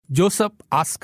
Joseph ask.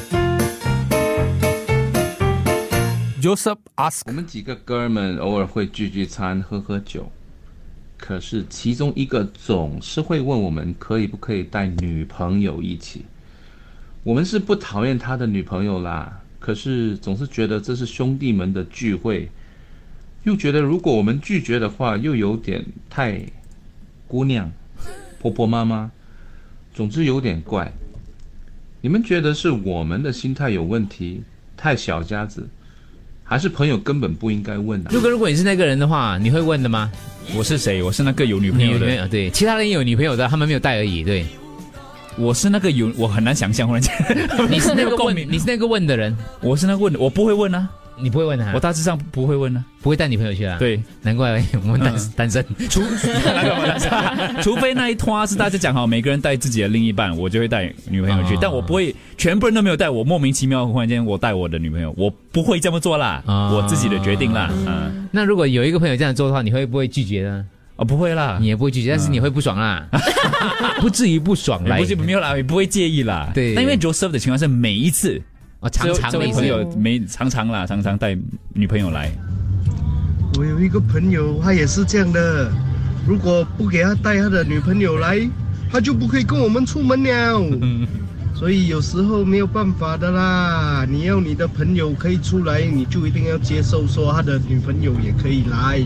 我们几个哥们偶尔会聚餐喝酒，可是其中一个总是会问我们可以不可以带女朋友一起。我们是不讨厌他的女朋友啦，可是总是觉得这是兄弟们的聚会，又觉得如果我们拒绝的话又有点太姑娘婆婆妈妈，总之有点怪。你们觉得是我们的心态有问题，太小家子，还是朋友根本不应该问啊？ 如果你是那个人的话，你会问的吗？ 我是谁？我是那个有女朋友的。 对，其他人也有女朋友的，他们没有带而已。对， 我是那个我很难想象，忽然间你是那个问的人， 我是那个问的，我不会问啊。 你不会问他？ 我大致上不会问啊， 不会带女朋友去啊。 对， 难怪我们单身。 除非那一拖是大家讲好，每个人带自己的另一半，我就会带女朋友去。但我不会全部人都没有带，我莫名其妙忽然间我带我的女朋友，我不会这么做啦，我自己的决定啦。 那如果有一个朋友这样做的话，你会不会拒绝呢？ 不会啦， 你也不会拒绝，但是你会不爽啦，不至于不爽啦， 没有啦，也不会介意啦。 对， 但因为 Joseph 的情况是每一次。 常这位朋友常常带女朋友来。 我有一个朋友，他也是这样的，如果不给他带他的女朋友来，他就不可以跟我们出门了。所以有时候没有办法的啦，你要你的朋友可以出来，你就一定要接受说他的女朋友也可以来。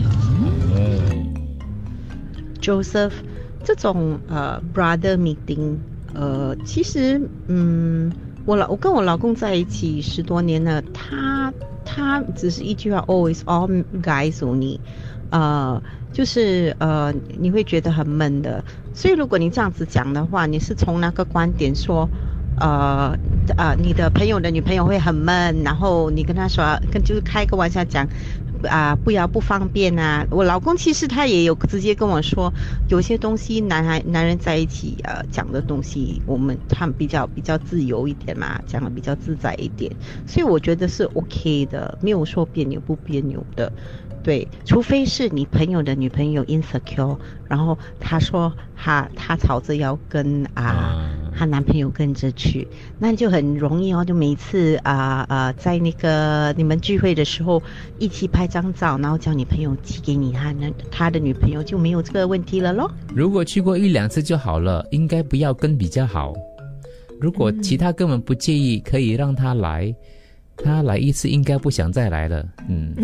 Joseph， 这种brother meeting， 其实我跟我老公在一起10多年了，他只是一句话 always all guys only， 就是你会觉得很闷的。所以如果你这样子讲的话，你是从那个观点说你的朋友的女朋友会很闷，然后你跟他说就是开个玩笑讲不方便啊。我老公其实他也有直接跟我说，有些东西男人在一起讲的东西，他们比较自由一点嘛，讲的比较自在一点，所以我觉得是 OK 的，没有说别扭不别扭的。对，除非是你朋友的女朋友 insecure， 然后他说他吵着要跟她男朋友跟着去，那就很容易哦，就每次在那个你们聚会的时候一起拍张照，然后叫你朋友寄给你他的女朋友，就没有这个问题了咯。 如果去过1-2次就好了，应该不要跟比较好。如果其他根本不介意，可以让他来。他来一次应该不想再来了。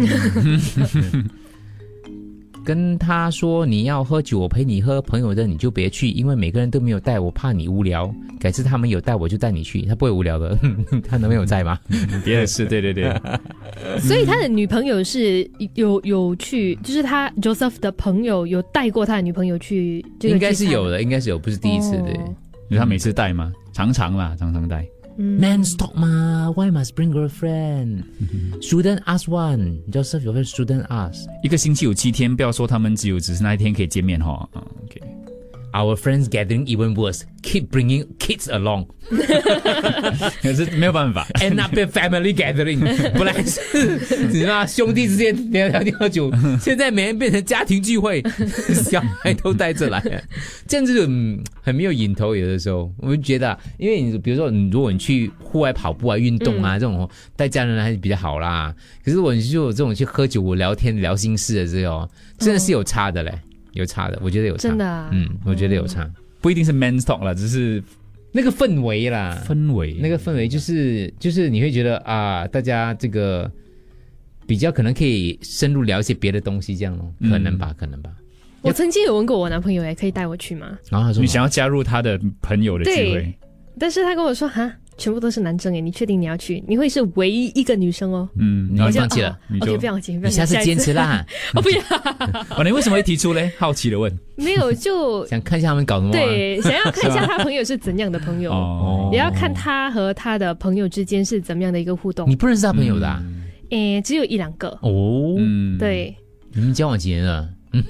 跟他说你要喝酒我陪你喝，朋友的你就别去，因为每个人都没有带，我怕你无聊，改次他们有带我就带你去，他不会无聊的。他男朋友在吗？ 也是，对。 所以他的女朋友是有去，就是他 Joseph 的朋友有带过他的女朋友去这个聚餐。 应该是有的，应该是有，不是第一次。对， 因为他每次带嘛，常常带。 Man's talk 嘛 ，Why must bring girlfriend? Shouldn't ask one. Joseph 有份 shouldn't ask。 一个星期有7天，不要说他们只是那一天可以见面哈。 OK。Our friends gathering even worse. Keep bringing kids along. 可是没有办法。 And up a family gathering. 本来是你知道兄弟之间聊天喝酒，现在每人变成家庭聚会，小孩都带着来，这样子就很没有瘾头。有的时候我们觉得因为你比如说如果你去户外跑步啊、运动啊这种带家人还是比较好啦。可是如果你就有这种去喝酒聊天聊心事的这种，真的是有差的嘞。有差的，我觉得有差， 真的啊， 我觉得有差， 不一定是 man's talk 啦，只是那个氛围啦，那个氛围就是你会觉得大家这个比较可能可以深入聊一些别的东西，这样咯，可能吧。 我曾经有问过我男朋友，可以带我去吗？ 然后他说你想要加入他的朋友的聚会， 对，但是他跟我说全部都是男生你确定你要去？你会是唯一一个女生哦。 你放弃了 ？OK， 不要放弃， 你下次坚持啦。 我不要。 你为什么会提出嘞？好奇的问。 没有，就想看一下他们搞什么。 对，想要看一下他朋友是怎样的朋友，也要看他和他的朋友之间是怎么样的一个互动。 你不认识他朋友的啊？ 只有1-2个。 哦， 对。 你们交往几年了？等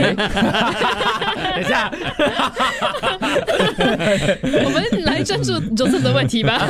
一下， 我们来专注Joseph的问题吧。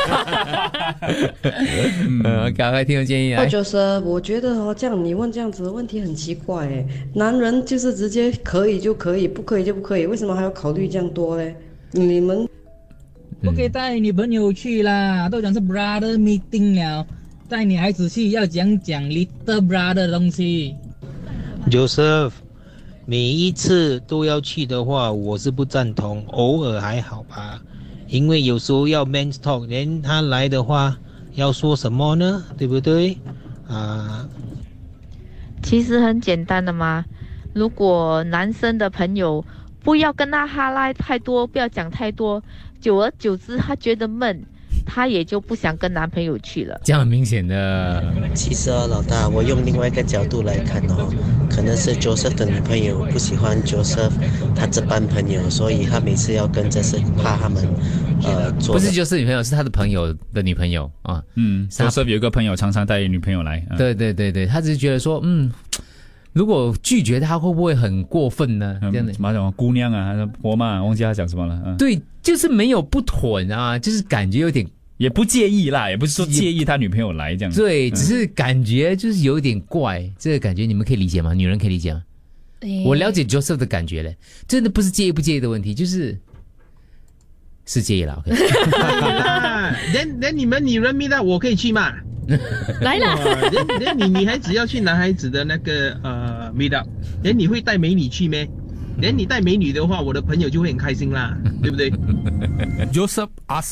赶快听我建议啊。 Joseph，我觉得这样你问这样子的问题很奇怪男人就是直接可以就可以，不可以就不可以，为什么还要考虑这样多嘞？你们不可以带女朋友去啦，都讲是 brother meeting 了，带女孩子去要讲 little brother 的东西。 Joseph， 每一次都要去的话，我是不赞同，偶尔还好吧，因为有时候要 man talk， 连他来的话要说什么呢？对不对？ 其实很简单的嘛，如果男生的朋友不要跟他哈拉太多，不要讲太多，久而久之他觉得闷，他也就不想跟男朋友去了。 这样很明显的。 其实老大，我用另外一个角度来看可能是 Joseph 的女朋友不喜欢 Joseph 他这班朋友，所以他每次要跟着是怕他们做。 不是 Joseph 女朋友，是他的朋友的女朋友啊。 Joseph 有一个朋友常常带女朋友来。 对，他只是觉得说，如果拒绝他会不会很过分呢？这样的什么姑娘啊，婆妈，忘记他讲什么了。 对，就是没有不妥啊，就是感觉有点。 也不介意啦，也不是说介意他女朋友来这样子。 对，只是感觉就是有点怪，这个感觉你们可以理解吗？女人可以理解吗？我了解 Joseph 的感觉嘞，真的不是介意不介意的问题，是介意了。OK， 连你们女人迷的我可以去吗？ 来了。 连你女孩子要去男孩子的那个meet up， 连你会带美女去咩？连你带美女的话，我的朋友就会很开心啦，对不对 ？Joseph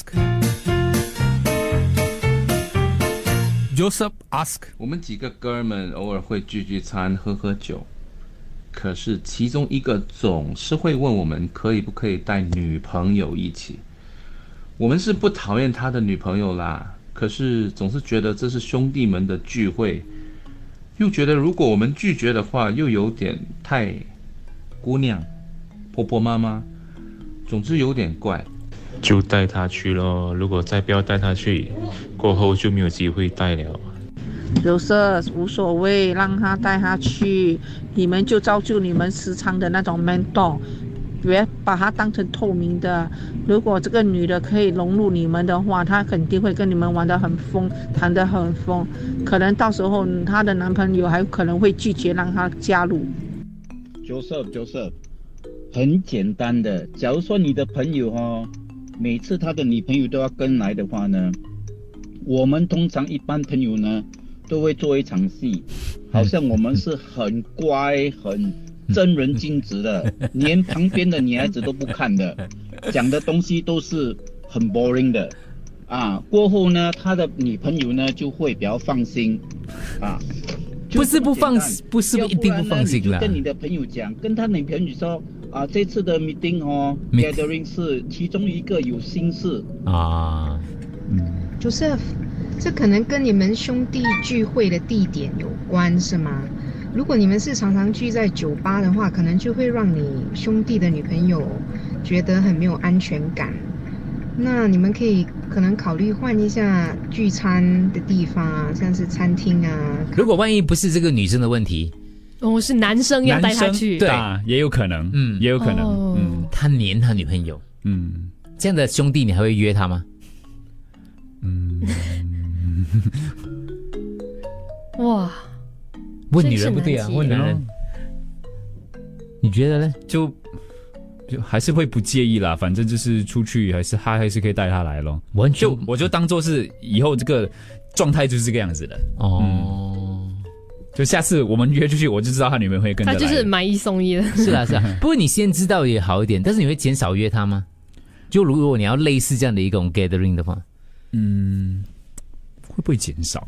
ask， 我们几个哥们偶尔会聚餐喝酒，可是其中一个总是会问我们可以不可以带女朋友一起。我们是不讨厌他的女朋友啦，可是总是觉得这是兄弟们的聚会，又觉得如果我们拒绝的话，又有点太姑娘、婆婆妈妈，总之有点怪。 就带他去咯，如果再不要带他去，过后就没有机会带了。 Joseph 无所谓，让他带他去，你们就照就你们时常的那种 mentor， 别把他当成透明的。如果这个女的可以融入你们的话，她肯定会跟你们玩得很疯，谈得很疯，可能到时候她的男朋友还可能会拒绝让她加入。 Joseph， 很简单的，假如说你的朋友每次他的女朋友都要跟来的话呢，我们通常一般朋友呢都会做一场戏，好像我们是很乖很正人君子的，连旁边的女孩子都不看的，讲的东西都是很 boring 的过后呢他的女朋友呢就会比较放心不是一定不放心啦。 跟你的朋友讲，跟他女朋友说这次的 meeting gathering 是其中一个有心事 Joseph， 这可能跟你们兄弟聚会的地点有关是吗？如果你们是常常聚在酒吧的话，可能就会让你兄弟的女朋友觉得很没有安全感。那你们可能考虑换一下聚餐的地方像是餐厅如果万一不是这个女生的问题， 是男生要带她去， 对也有可能，也有可能， 他黏他女朋友，这样的兄弟你还会约他吗？ 哇， 问女人不对啊，问男人，你觉得呢？ 就还是会不介意啦，反正就是出去还是可以带他来咯。我就当做是以后这个状态就是这个样子的就下次我们约出去，我就知道他女朋友会跟着来。 他就是买一送一的。 是啊。不过你先知道也好一点，但是你会减少约他吗？就如果你要类似这样的一种 gathering 的话， 会不会减少？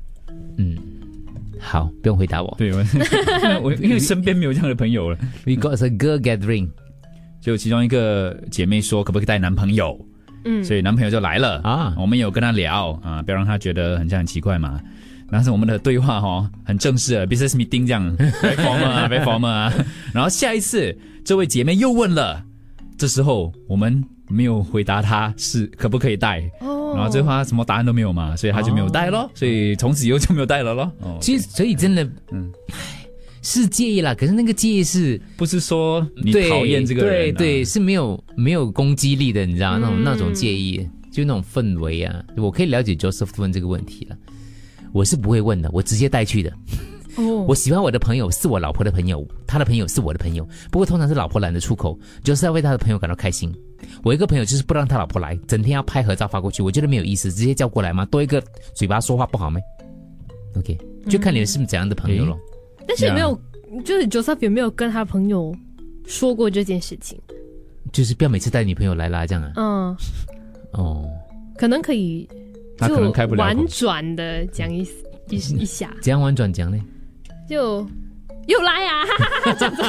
好，不用回答我。 对，我因为身边没有这样的朋友了。 We got a girl gathering， 就其中一个姐妹说可不可以带男朋友，所以男朋友就来了我们有跟他聊不要让他觉得很奇怪嘛。但是我们的对话很正式的 business meeting 这样very formal 然后下一次这位姐妹又问了，这时候我们没有回答她是可不可以带然后这话什么答案都没有嘛，所以她就没有带咯所以从此以后就没有带了咯其实所以真的是介意啦，可是那个介意是不是说你讨厌这个人对是没有攻击力的，你知道那种介意，就那种氛围我可以了解 Joseph 问这个问题了，我是不会问的，我直接带去的我喜欢我的朋友是我老婆的朋友，他的朋友是我的朋友，不过通常是老婆懒得出口，就是要为他的朋友感到开心。我一个朋友就是不让他老婆来，整天要拍合照发过去，我觉得没有意思，直接叫过来嘛，多一个嘴巴说话不好吗 ？OK， 就看你是怎样的朋友咯。 但是有没有，就是 Joseph 有没有跟他朋友说过这件事情？ 就是不要每次带女朋友来啦，这样啊。可能可以， 他可能开不了口， 婉转的讲一下。 怎样婉转讲呢？ 就又来啊！这样子。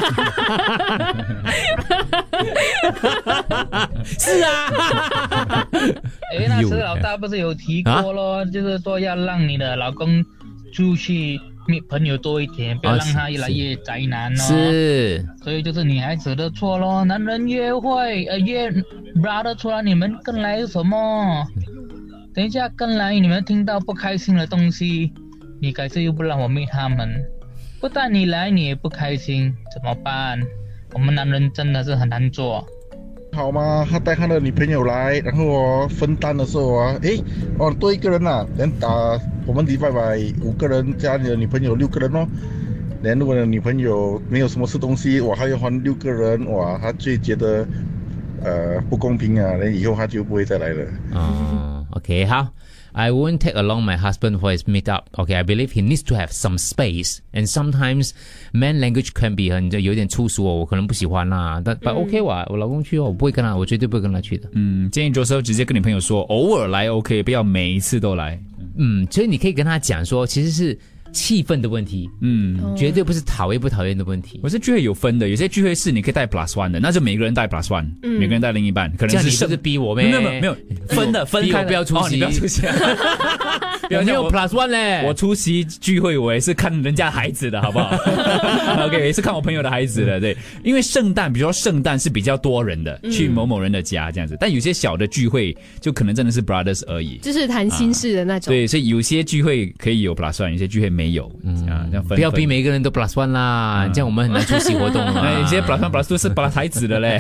是啊。 那时老大不是有提过咯，就是说要让你的老公出去朋友多一点，不要让他越来越宅男咯。 是， 所以就是女孩子的错咯。男人约会约 brother 出来，你们跟来什么？等一下跟来，你们听到不开心的东西，你改次又不让我meet他们，不但你来你也不开心，怎么办？我们男人真的是很难做。 好吗？他带他的女朋友来，然后分担的时候多一个人啊，我们divide by 5个人加你的女朋友6个人哦。如果你的女朋友没有什么吃东西，还要还6个人，他就觉得不公平啊，以后他就不会再来了。 OK， 好。I won't take along my husband for his meetup. Okay, I believe he needs to have some space. And sometimes man language can be 有点粗俗我可能不喜欢啦。但 OK 我老公去我不会跟他，我绝对不会跟他去的。 建议Joseph直接跟你朋友说，偶尔来 OK， 不要每一次都来。 所以你可以跟他讲说，其实是气氛的问题，绝对不是讨厌不讨厌的问题。 我是聚会有分的，有些聚会是你可以带 +1 的，那就每个人带 +1，每个人带另一半，可能是这样你就是逼我咩？ 没有分开， 不要出席， 你不要出席。 有没有 +1 嘞？ 我出席聚会，我也是看人家孩子的好不好？OK， 也是看我朋友的孩子的，对。因为圣诞，比如说圣诞是比较多人的，去某某人的家这样子，但有些小的聚会就可能真的是 brothers 而已， 就是谈心事的那种。 对，所以有些聚会可以有 +1，有些聚会没有。这样分不要逼每个人都 +1 啦，这样我们很难出席活动啊。 有些 +1+2 是把孩子的嘞。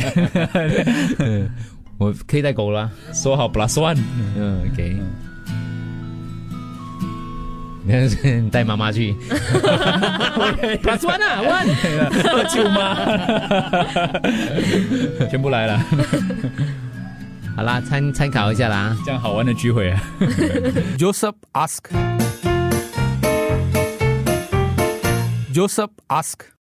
我可以带狗了， 说好 +1。 OK。你带妈妈去，+1啊，1， 舅妈，全部来了。 好啦，参考一下啦， 这样好玩的聚会啊。 Joseph ask.